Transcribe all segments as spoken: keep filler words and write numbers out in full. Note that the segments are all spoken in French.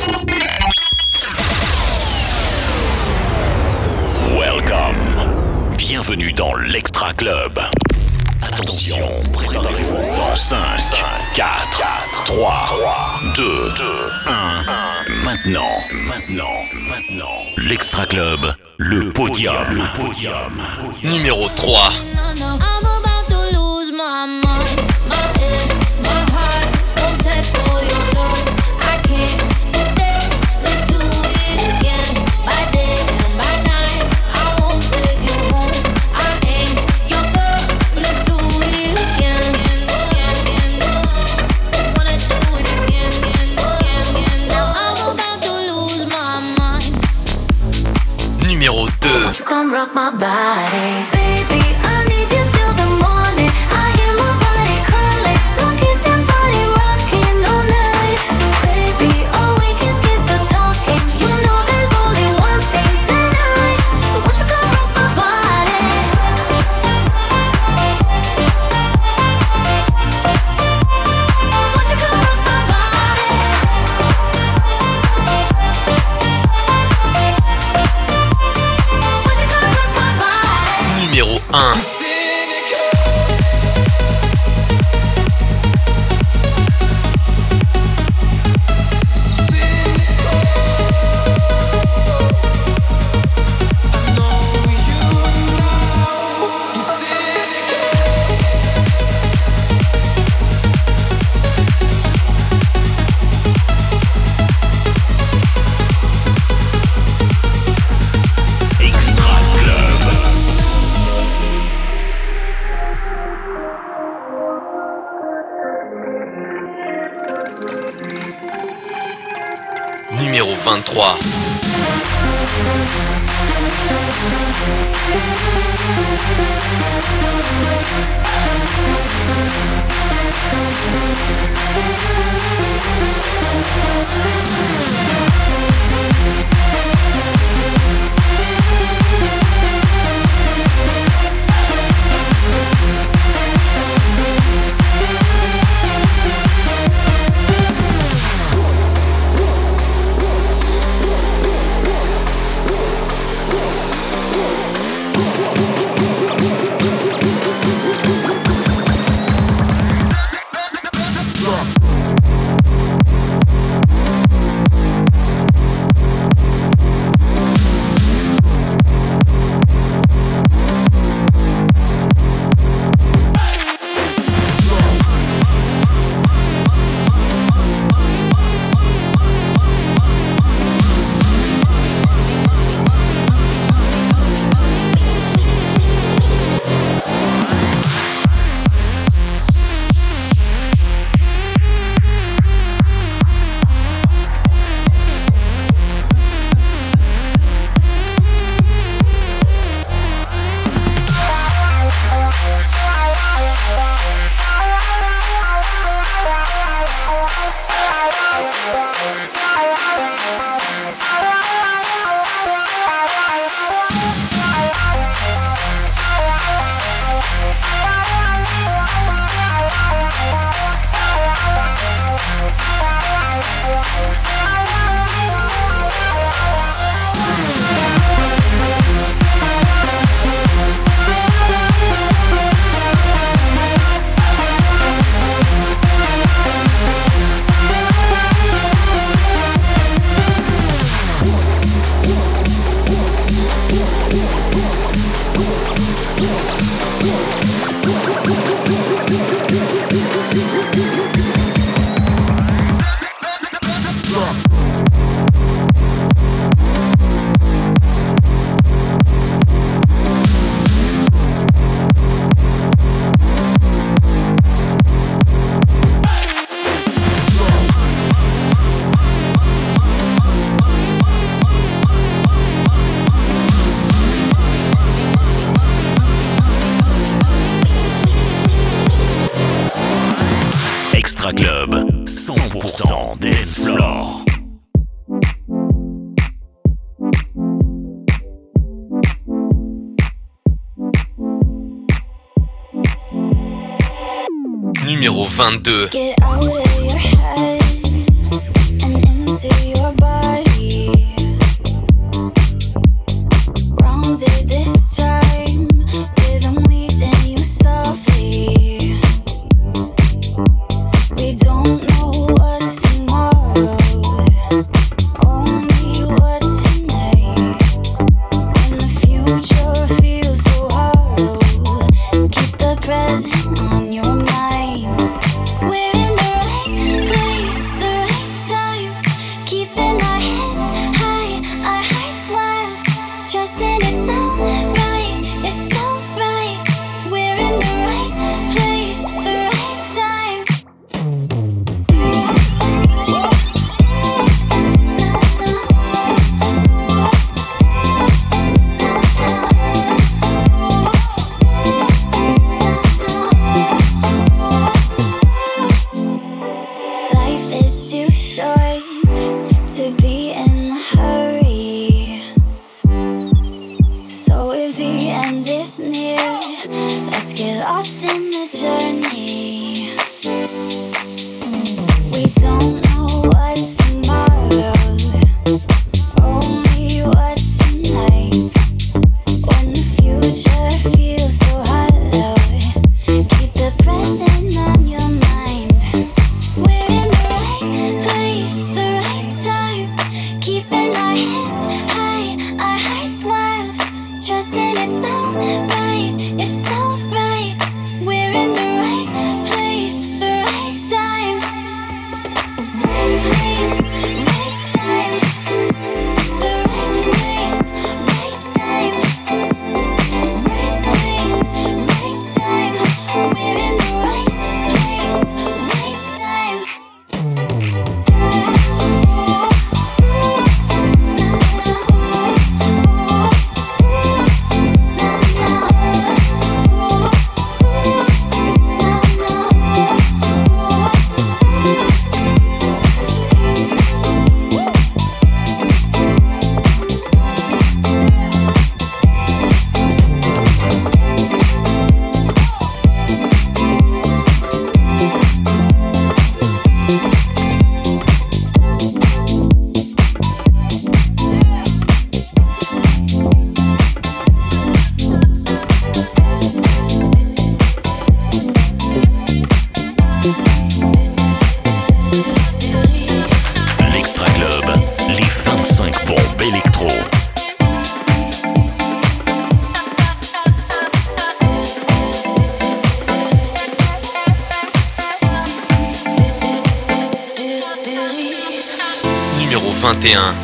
Welcome. Bienvenue dans l'Extra Club. Attention, préparez-vous dans cinq, quatre, trois, deux, un. Maintenant, maintenant, maintenant. L'Extra Club, le podium. Le podium. Numéro trois. Numéro deux. Come rock my body, baby. I need you till the morning. I hear my body calling, so keep that body rocking all night, baby. Oh, we can skip the talking. You know there's only one thing tonight, so won't you come rock my body? Won't you come rock my body? Numéro un. Numéro vingt-trois. Extra Club, cent pour cent dance floor. Numéro vingt-deux. Get out of your head and into your vingt et un.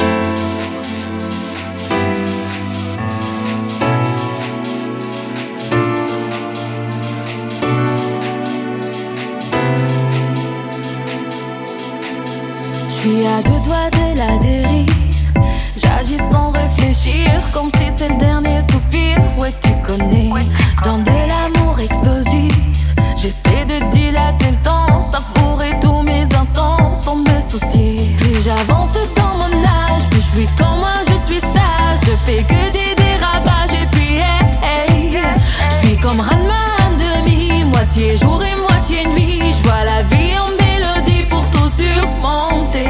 Je suis à deux doigts de la dérive. J'agis sans réfléchir, comme si c'est le dernier soupir. Ouais, tu connais, dans de l'amour explosif. J'essaie de dilater le temps, savourer tous mes instants sans me soucier. Plus j'avance dans mon âge, plus je suis comme moi, je suis sage. Je fais que des dérapages et puis hey, hey. Je suis comme Ranma en demi, moitié jour et moitié nuit. Je vois la vie en mélodie pour tout surmonter.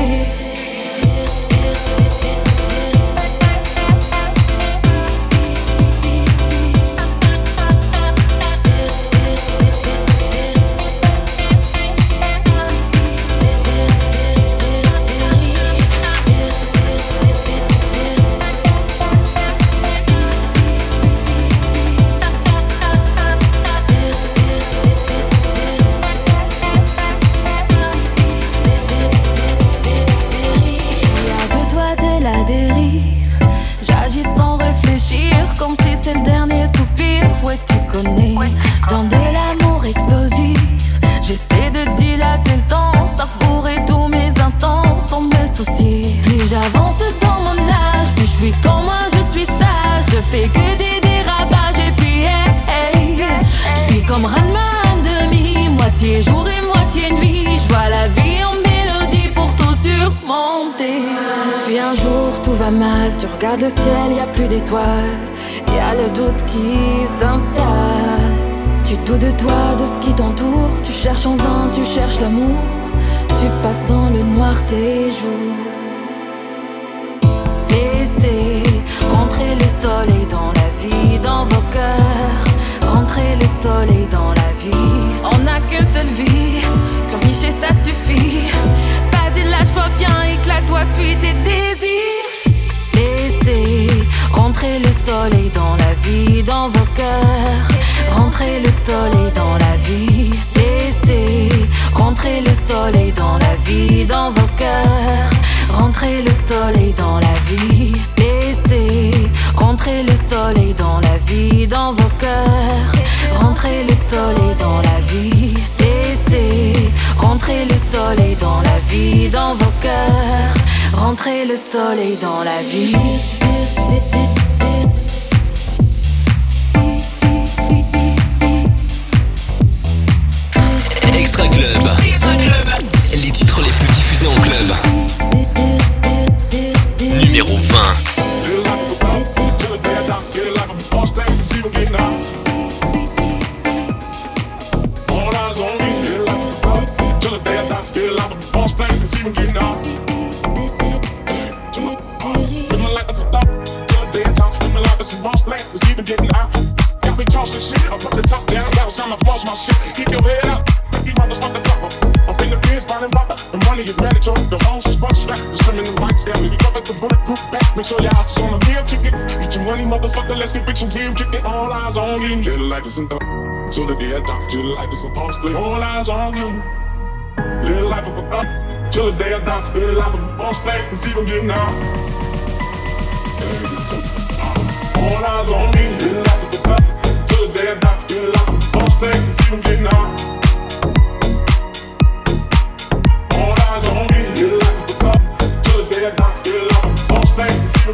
Comme si c'est le dernier soupir, ouais tu connais. Dans de l'amour explosif, j'essaie de dilater le temps, savourer tous mes instants sans me soucier. Plus j'avance dans mon âge, plus je suis comme moi, je suis sage. Je fais que des dérapages et puis hey, hey. Je suis comme Ranma en demi, moitié jour et moitié nuit. Je vois la vie en mélodie pour tout surmonter. Puis un jour tout va mal, tu regardes le ciel, y a plus d'étoiles. Y'a le doute qui s'installe. Tu doutes de toi, de ce qui t'entoure. Tu cherches en vain, tu cherches l'amour. Tu passes dans le noir tes jours. soleil dans la vie, dans vos cœurs. Rentrez le soleil dans la vie. On n'a qu'une seule vie, pleurnicher ça suffit. Vas-y lâche-toi, viens, éclate-toi, suis tes désirs. Laissez rentrer le soleil dans la vie, dans vos cœurs. Rentrez le soleil dans la vie. Laissez rentrer le soleil dans la vie, dans vos cœurs. Rentrez le soleil dans la vie. Laissez rentrer le soleil dans la vie, dans vos cœurs. Rentrez le soleil dans la vie. Laissez rentrer le soleil dans la vie, dans vos cœurs. Rentrez le soleil dans la vie. Extra Club. Extra Club. Les titres les plus diffusés en club. Numéro vingt. Make sure your eyes on the real ticket. Get your money, motherfucker, let's get fiction real chicken. All eyes on you. Little like this and the so the day I die. Little like this and boss play. All eyes on you. Little life of a thought. Till the day I die. Little life of a boss play. Cause even getting out. All eyes on me. Little life of a thought. Till the day I die. Little life of a boss play. Cause even getting out. All eyes on me. Little life of a thought. Till the day I die. Little life of a boss play.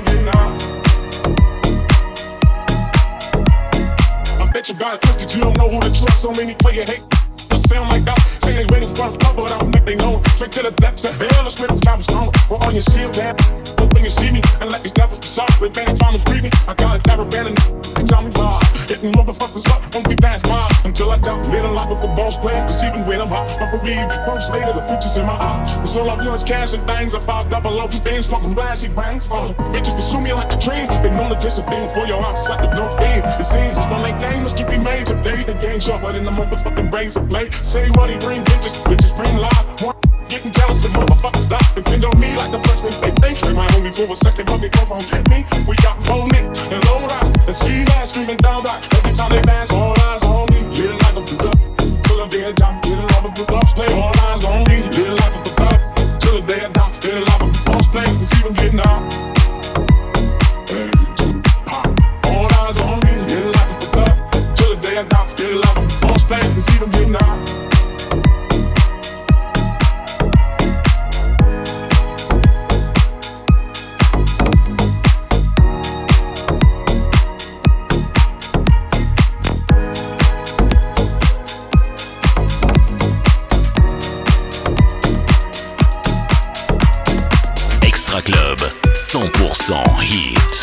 I bet you got it twisted, you don't know who to trust. So many play your hate. I sound like that. Say they ready for a couple, but I don't make they know. Straight to the depths of hell, the spirit's got me strong. We're on your shield, man. When you see me, and let these devils be sorry. When they trying to free me, I got a terror band and they tell me why. Hitting motherfuckers up, won't be past mine. Until I doubt the little life of a boss player. Cause even when I'm hot, I believe first later, the future's in my eye. With all I feel is cash and things, I five double low, things smoking glassy bangs falling. Bitches pursue me like a dream. They know the discipline for your hearts like the North End. It seems my late game must keep me made today. The game's sharper than the motherfucking brains of play. Say what he bring, bitches, bitches bring lies. One getting jealous and motherfuckers die. Depend on me like the first thing they think. They might only for a second, but they come home get me. We got phone Nick and low rise and street ass screaming down back. Every time they pass, all eyes on me. Little like a good up till the day I die. Little like a good ups play, all eyes on me. Little like a good up till the day I die. Little like a boss play, cause even getting out. All eyes on me. Little like a good up till the day I die. Little like a boss play, cause even getting out. Club, cent pour cent hit.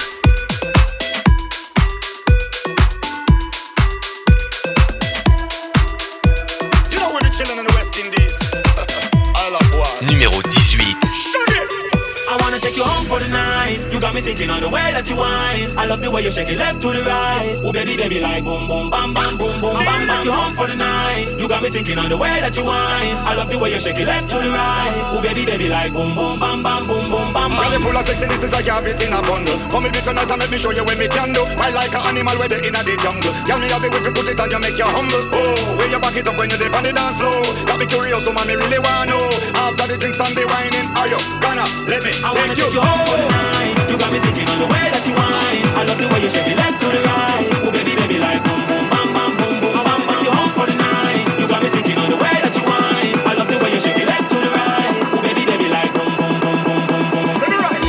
You know when we're chilling in the West Indies. I love one. Numéro dix-huit. I wanna take you home for the night. You got me thinking on the way that you whine. I love the way you shake it left to the right. Oh baby, baby, like boom, boom, bam, bam, boom, boom, bam, bam. Take you home for the night. You got me thinking on the way that you whine. I love the way you shake it left to the right. Oh baby, baby, like boom, boom, bam, bam, boom, boom, bam, bam. Girl, you full of sexy, this is like you have it in a bundle. Come with me tonight and let me show you what me can do. I like an animal where they in a the jungle. Tell me how the way you put it on, you make you humble. Oh, when you back it up when you dip on the dance floor. Got me curious, so man, me really wanna know. After the drinks and the whining, are you gonna let me I wanna take you home for the night. You got me thinking on the way that you whine. I love the way you shake it left to the right. Oh baby, baby, like boom, boom, bam, bam, boom, boom, bam, bam. Take you home for the night. You got me thinking on the way that you whine. I love the way you shake it left to the right. Oh baby, baby, like boom, boom, boom, boom, boom, boom. to the right.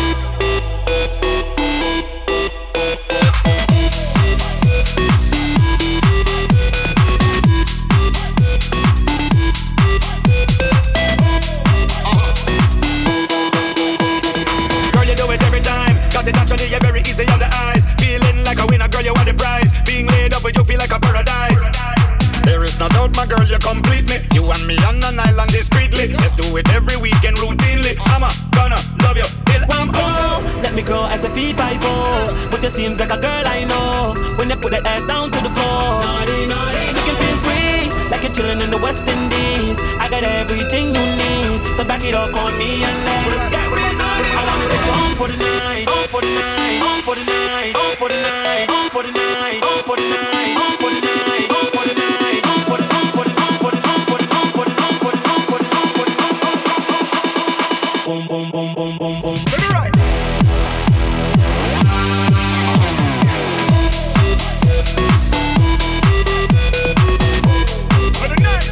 Girl, you do it every time. Got it naturally, you're very easy on the eyes. Feeling like a winner, girl, you want the prize. Being laid up with you feel like a paradise. There is no doubt, my girl, you complete me. You and me on an island discreetly. Let's do it every weekend routinely. I'm a gonna love you till I'm So let me me grow as a fee five oh. But you seems like a girl I know when you put that ass down to the floor. Naughty, naughty, you can feel free, like you're chilling in the West Indies. I got everything you need, so back it up on me and let's get real naughty. I wanna take you home for the night, home for the night, home for the night, home for the night, home for the night, home for the night, home for the night, home for the night, home for the home for the home for the home for the home for the home for the home for the home for the boom boom boom boom boom boom. To the right. For the night.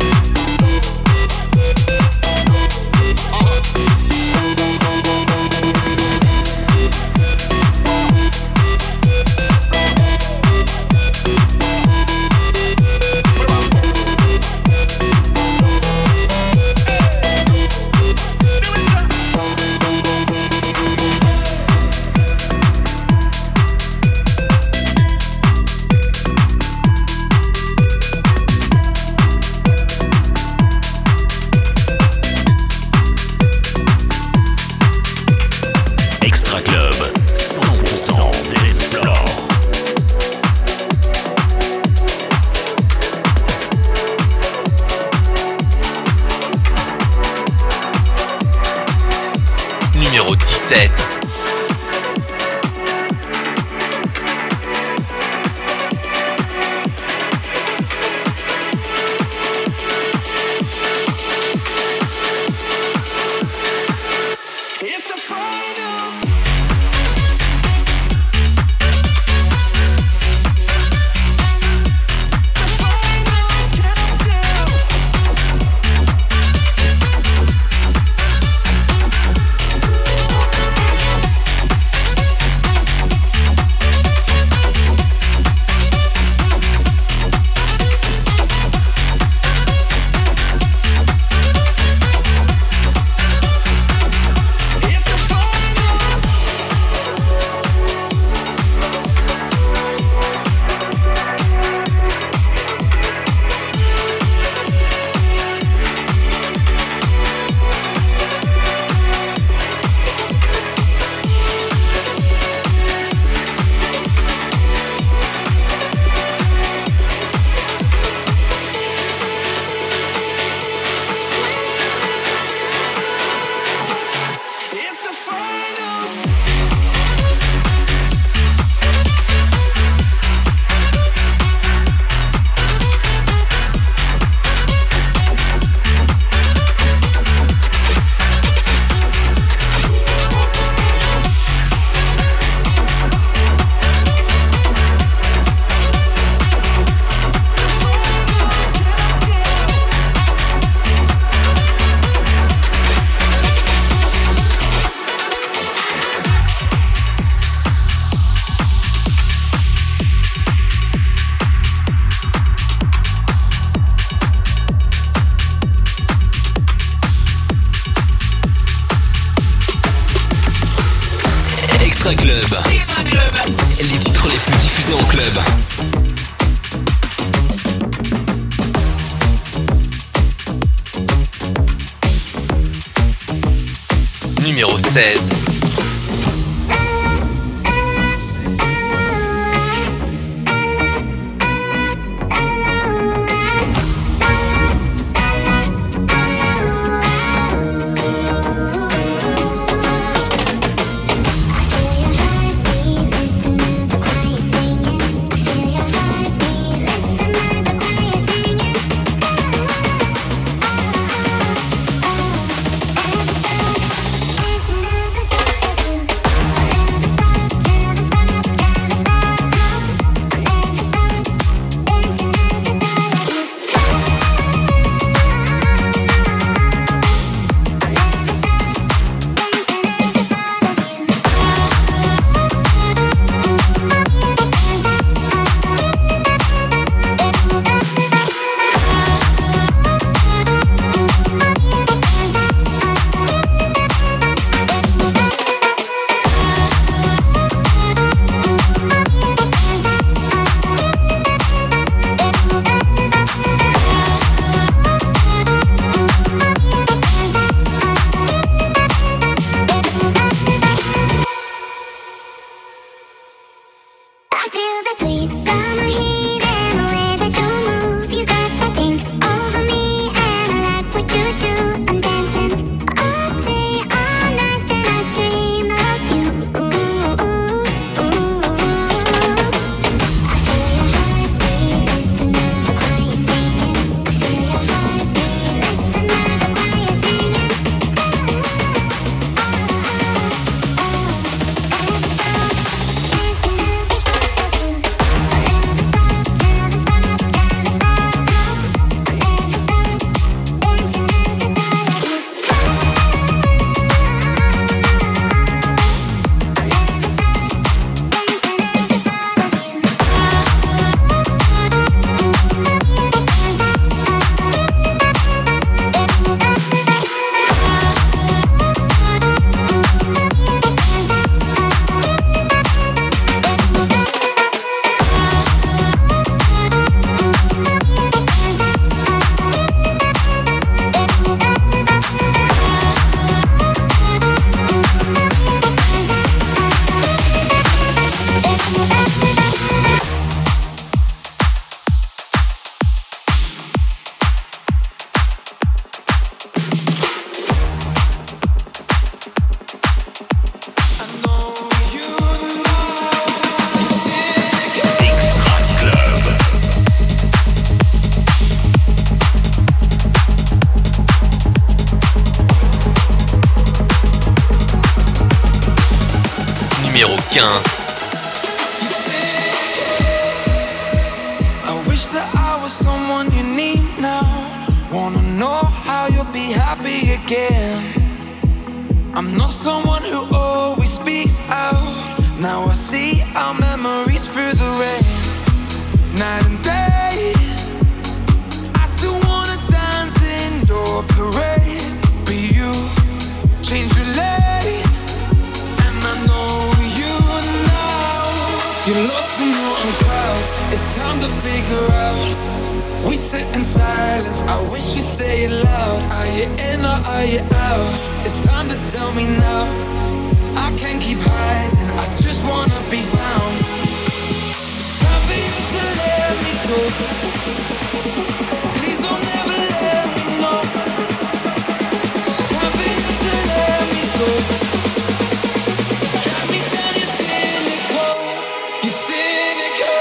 Numéro dix-sept. Extra Club. Extra Club. Les titres les plus diffusés en club. Numéro seize. It's quinze. I wish that I was someone you need now. Wanna know how you'll be happy again. I'm not someone who always speaks out. Now I see our memories through the rain. Night and day, I still wanna dance in your parade. But you change your lane, and I know you now. You're lost in your own crowd. It's time to figure out. We sit in silence, I wish you'd say it loud. Are you in or are you out? It's time to tell me now. I can't keep hiding, I just wanna be found. It's time for you to let me go. Please don't ever let me know. It's time for you to let me go. Drive me down, you're cynical. You're cynical.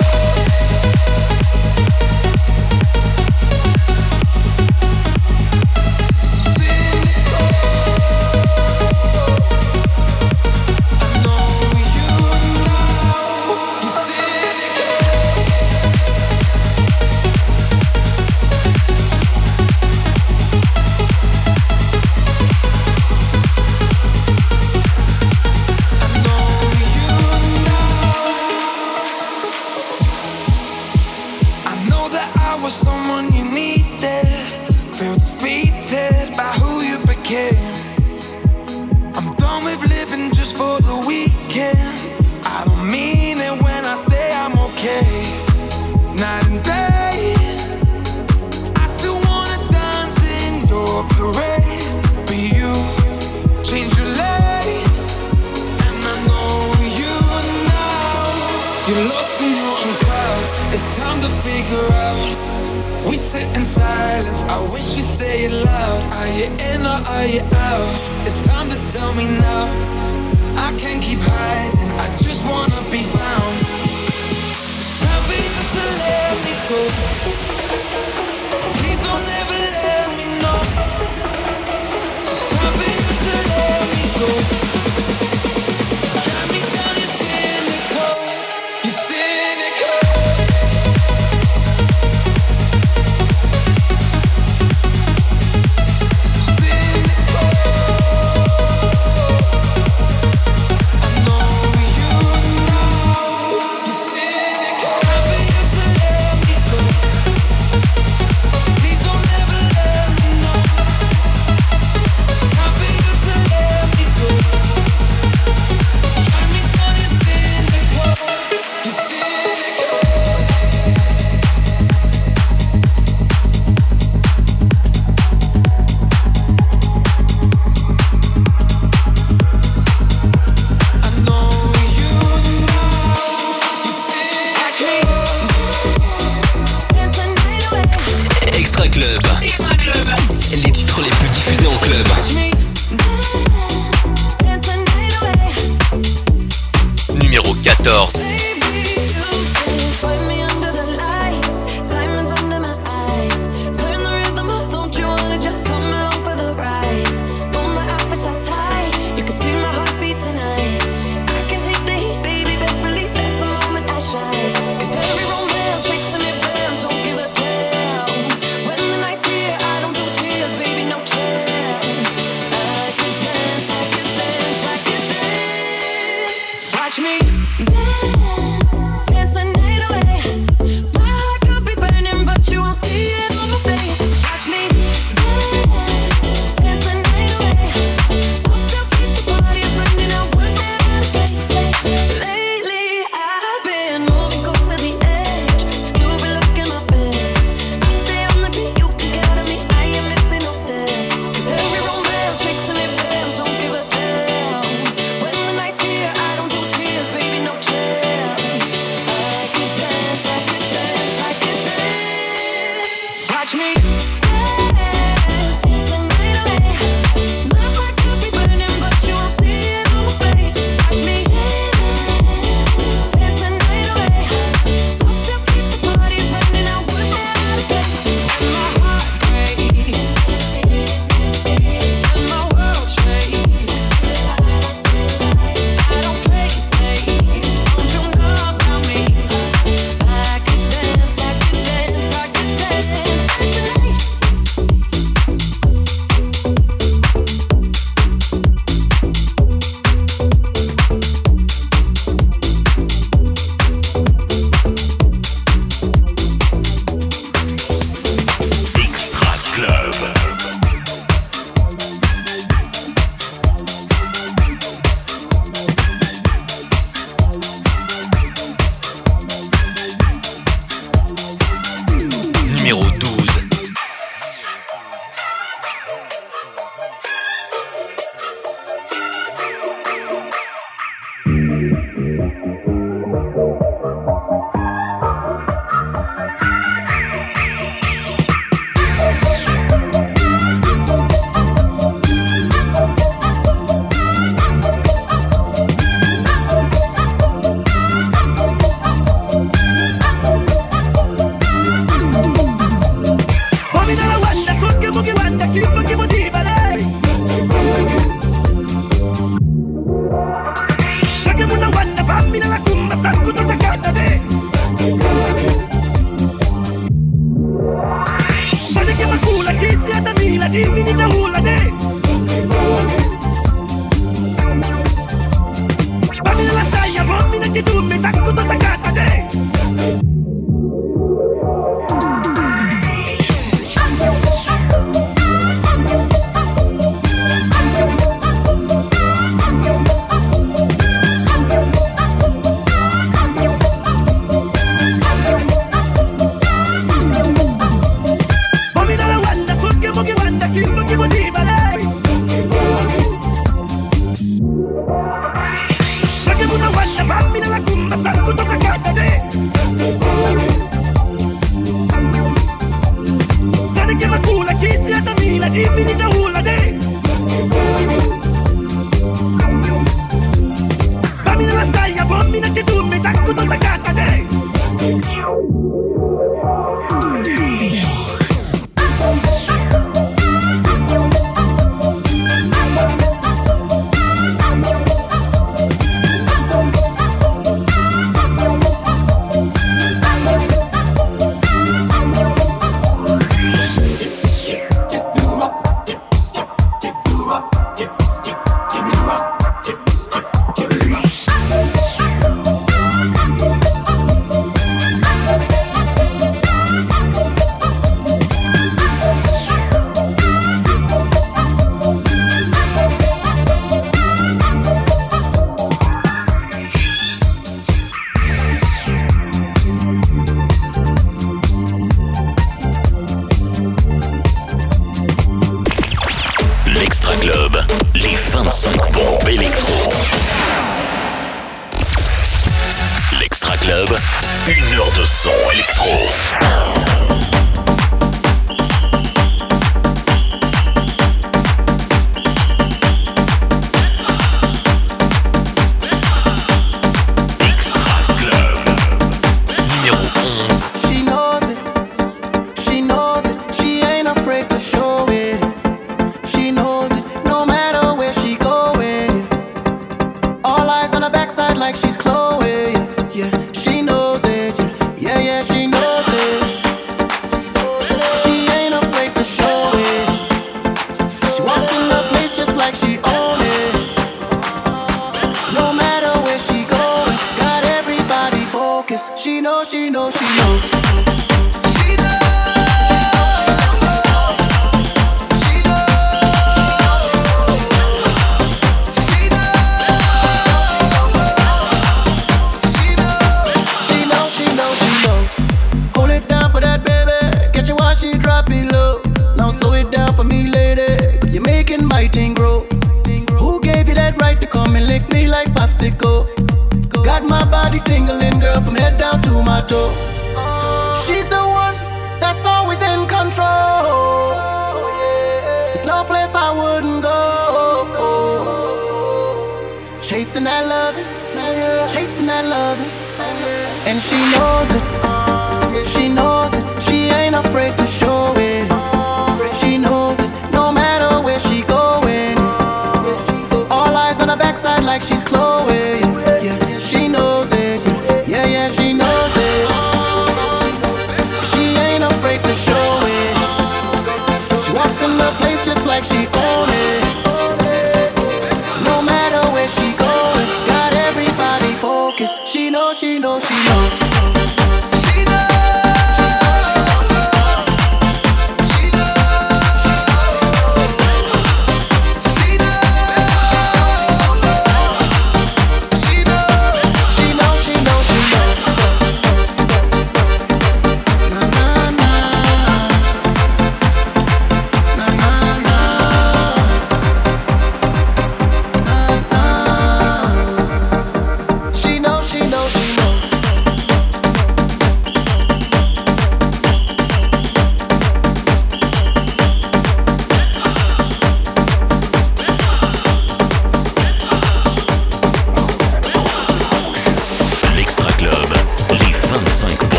Baby,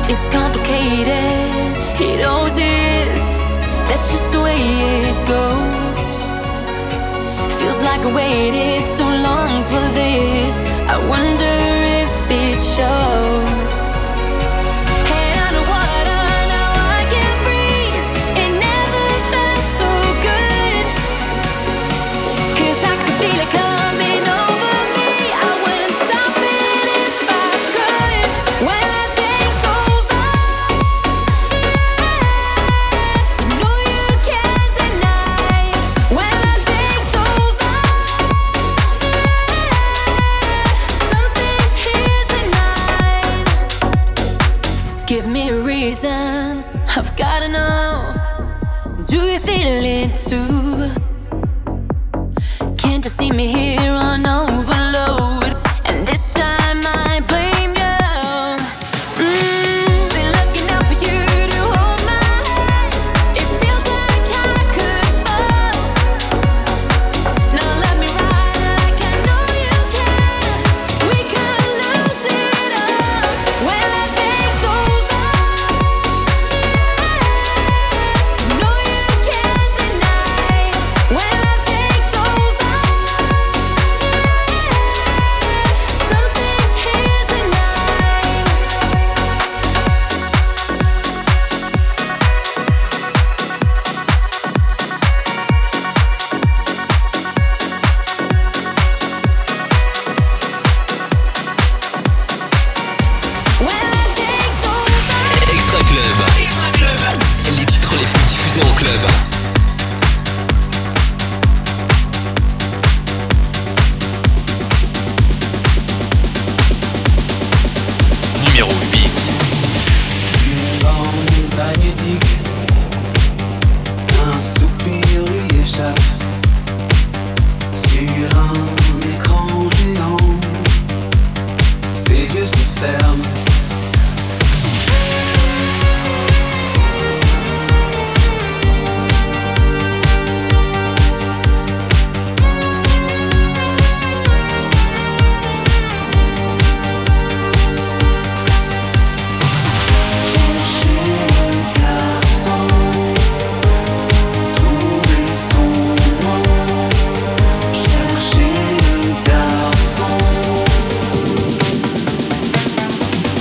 It's complicated, it always is. That's just the way it goes. Feels like I waited so long for this. I wonder if it shows. Head underwater, now I can't breathe. It never felt so good. 'Cause I can feel it coming over me. I wouldn't stop it if I could. When I takes over, you know you can't deny. When I takes over, something's here tonight. Give me a reason, I've gotta know. Do you feel it too? Can't you see me here on overload? And this time I blame you. Mm, been looking out for you to hold my hand. It feels like I could fall. Now let me ride like I know you can. We could lose it all when I takes over. You know you can't deny. When I takes over, something's here tonight. When I takes over. Extra Club. Extra Club. Les titres les plus diffusés en club. Numéro huit. Une bande magnétique, un soupir lui échappe sur un écran géant. Ses yeux se ferment. Chercher le garçon, trouver son nom. Chercher le garçon.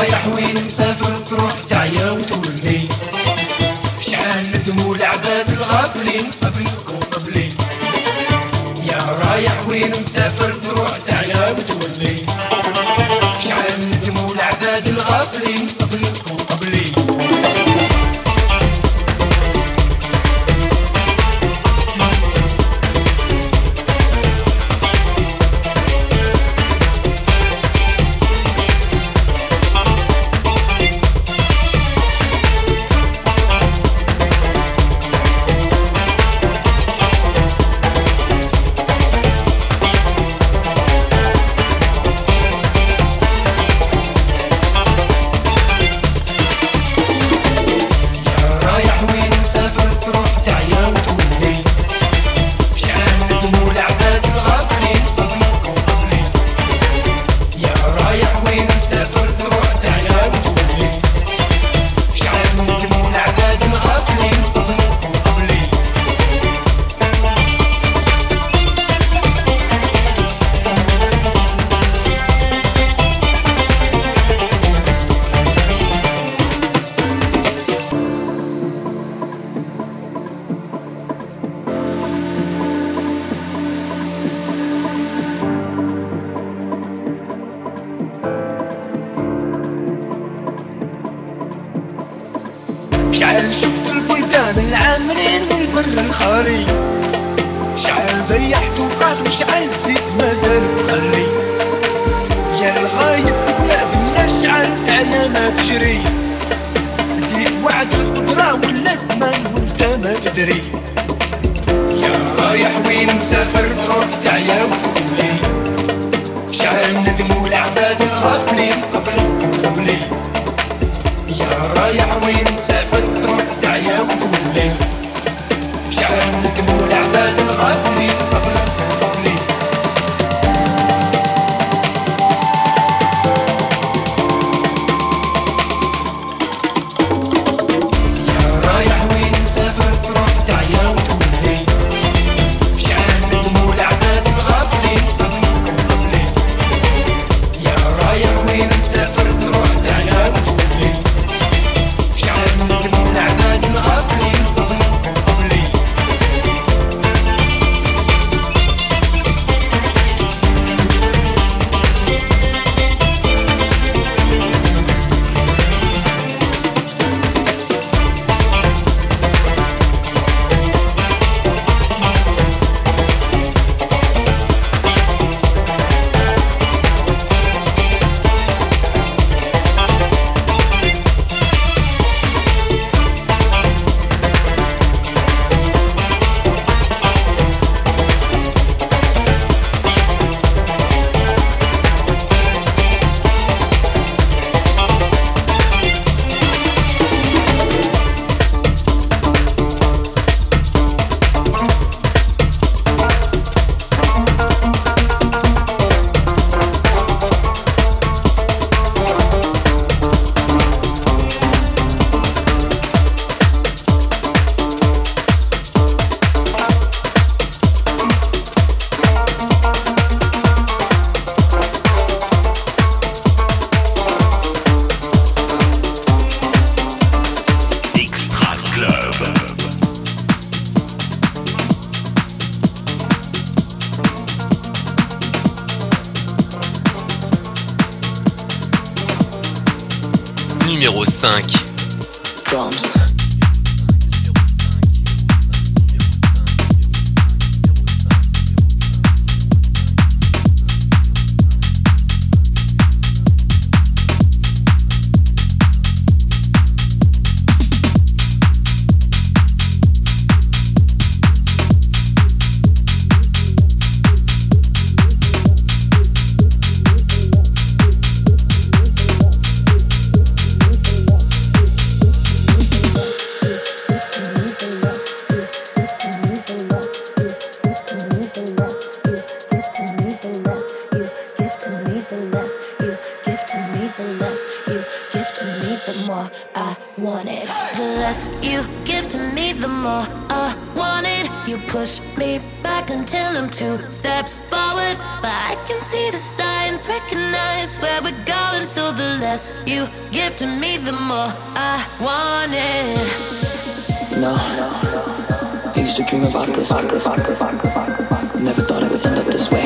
رايح وين مسافر تروح تعيا وتولي شحال ندموا العباد الغافلين قبلك وقبلي يا رايح وين مسافر تروح تعيا وتولي شحال ندموا العباد الغافلين قبلك وقبلي شحال شفت البلدان العامرين من البر الخالي شحال ضيعت وقعت وشحال نسيت مازال تخلي يا الغايب في بلاد الناس شحال ايام تجري ديك وعد القدرة ولا الزمان وانت ما تدري يا رايح وين مسافر تروح تعيا وتولي شحال ندموا العباد الغافلين قبلك وقبلي يا رايح وين مسافر تروح تعيا وتولي شحال ندموا العباد الغافلين قبلك وقبلي يا رايح وين مسافر تروح تعيا وتولي شحال ندموا العباد الغافلين قبلك وقبلي يا رايح وين مسافر تروح تعيا وتولي شحال ندموا العباد الغافلين قبلك وقبلي Extra Club. Numéro cinq. Drums. I want it. The less you give to me, the more I want it. You push me back until I'm two steps forward, but I can see the signs, recognize where we're going. So the less you give to me, the more I want it. No, I used to dream about this. Never thought it would end up this way.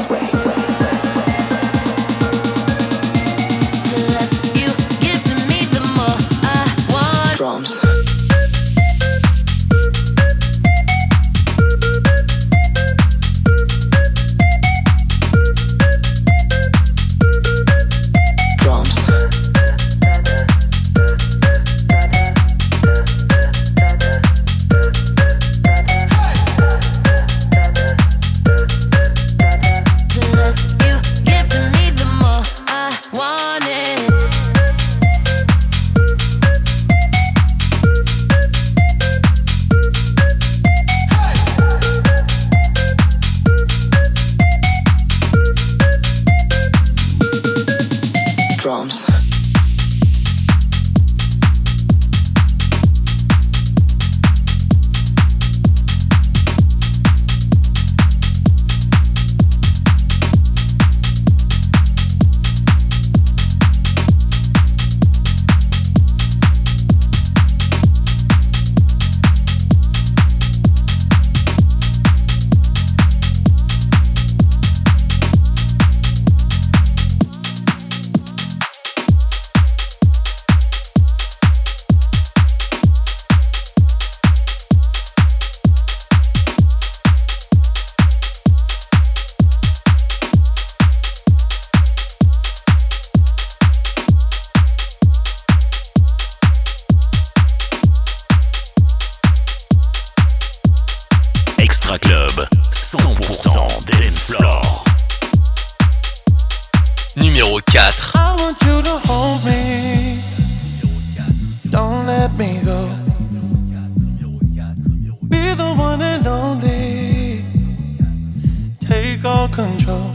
The less you give to me, the more I want. Drums. Drums. Extra Club, cent pour cent dance floor. Numéro quatre. I want you to hold me. Don't let me go. Be the one and only. Take all control.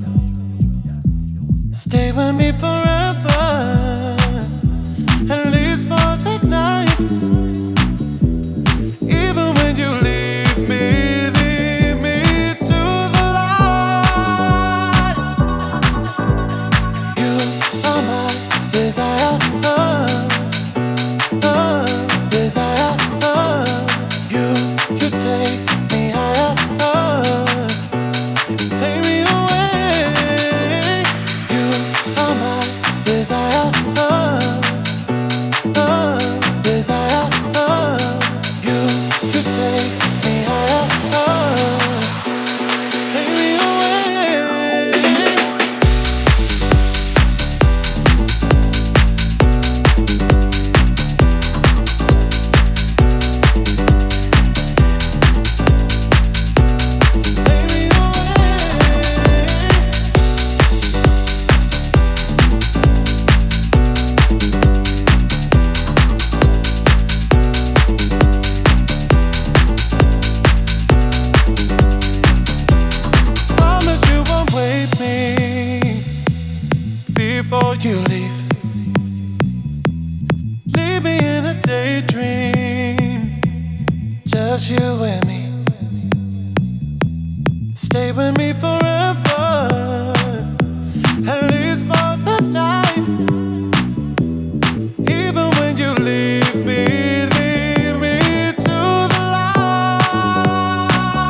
Stay with me forever. At least for the night. Even when you leave me, leave me to the light. You are my desire, uh, uh, desire, uh. You, you take me higher, uh, take me away. You are my desire, uh, uh, desire, uh. You, you take me higher, uh, take me away. Take me Promise you won't wait me before you leave. Leave me in a daydream, just you and me. Stay with me forever, at least for the night. Even when you leave me, leave me to the light.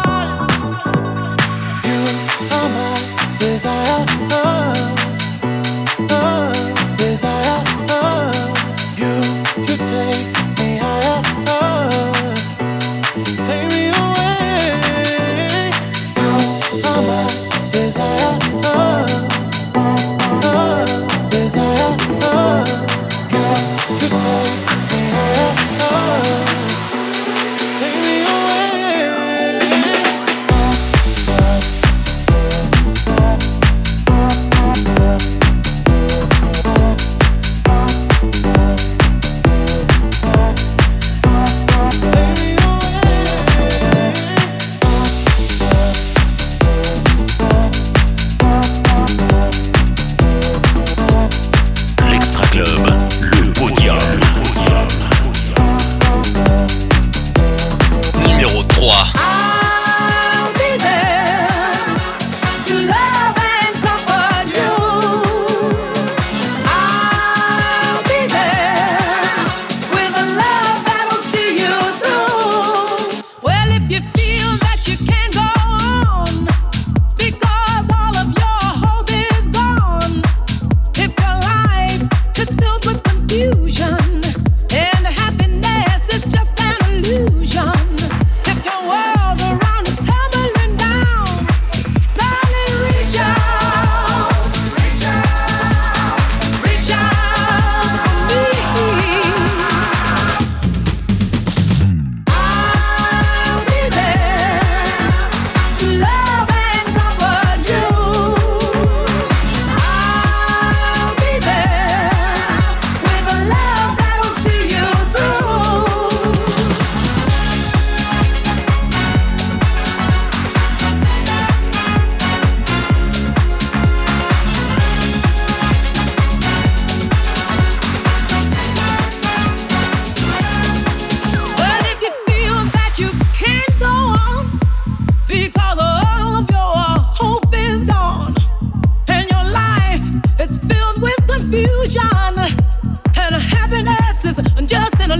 You are my desire, uh, uh, desire, uh. You, you take me higher, uh, take me away. You are my desire, uh, uh, desire, uh. You, you take me higher, uh, take me away. L'Extra Club, le podium.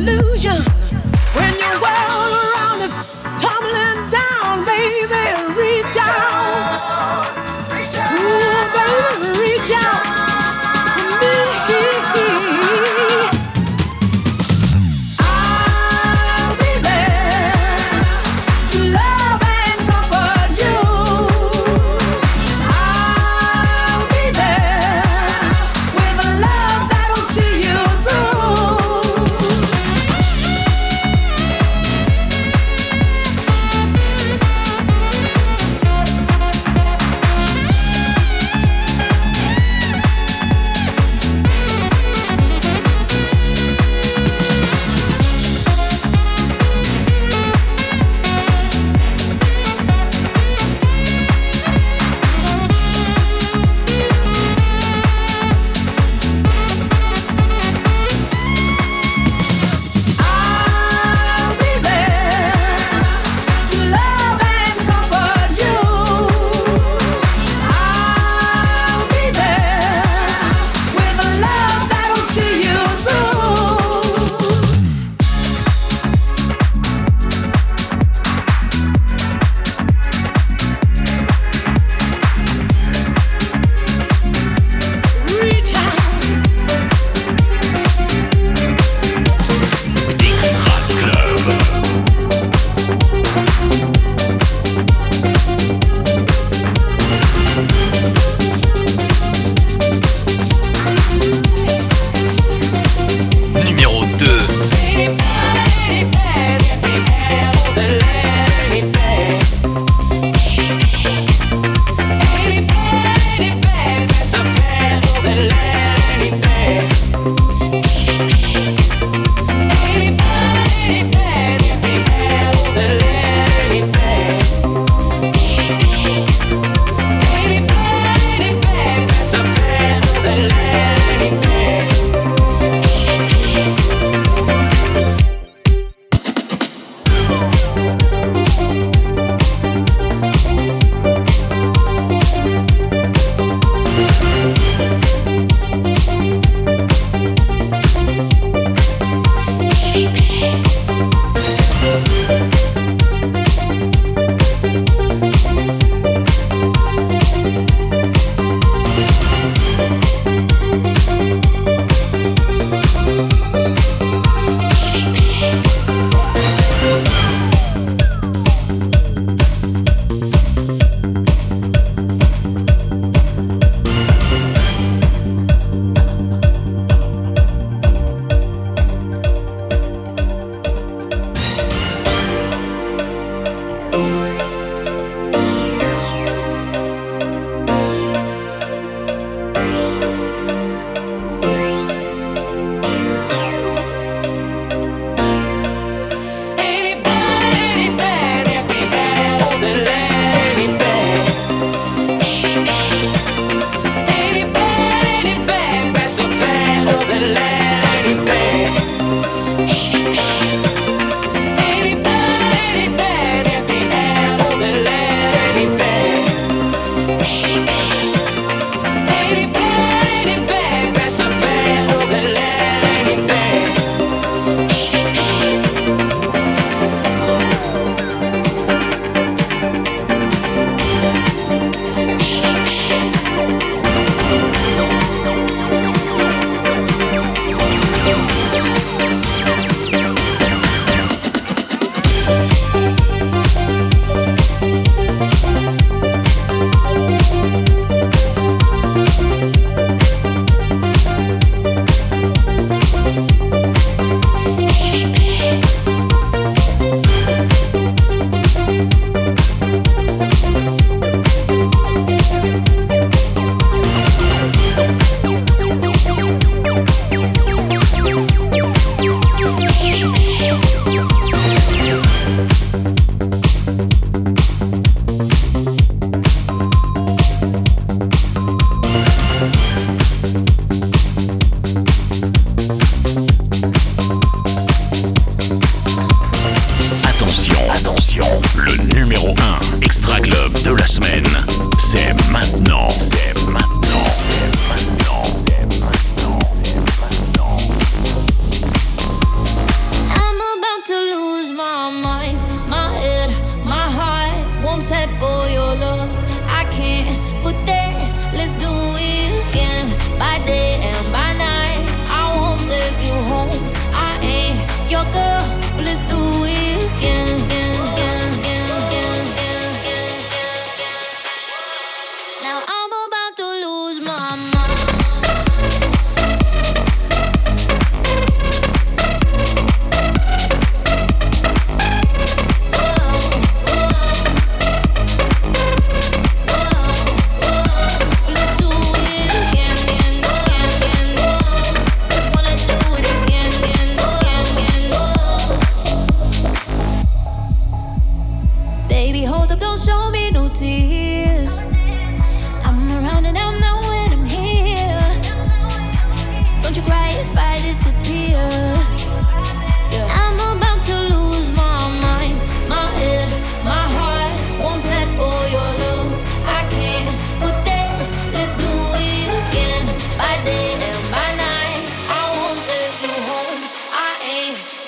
illusion. When your world around is tumbling down, baby, reach out. Ooh, baby, reach out for me. I'll be there to love and comfort you. I'll be there with a love that'll see you through.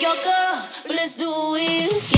your girl, but let's do it again.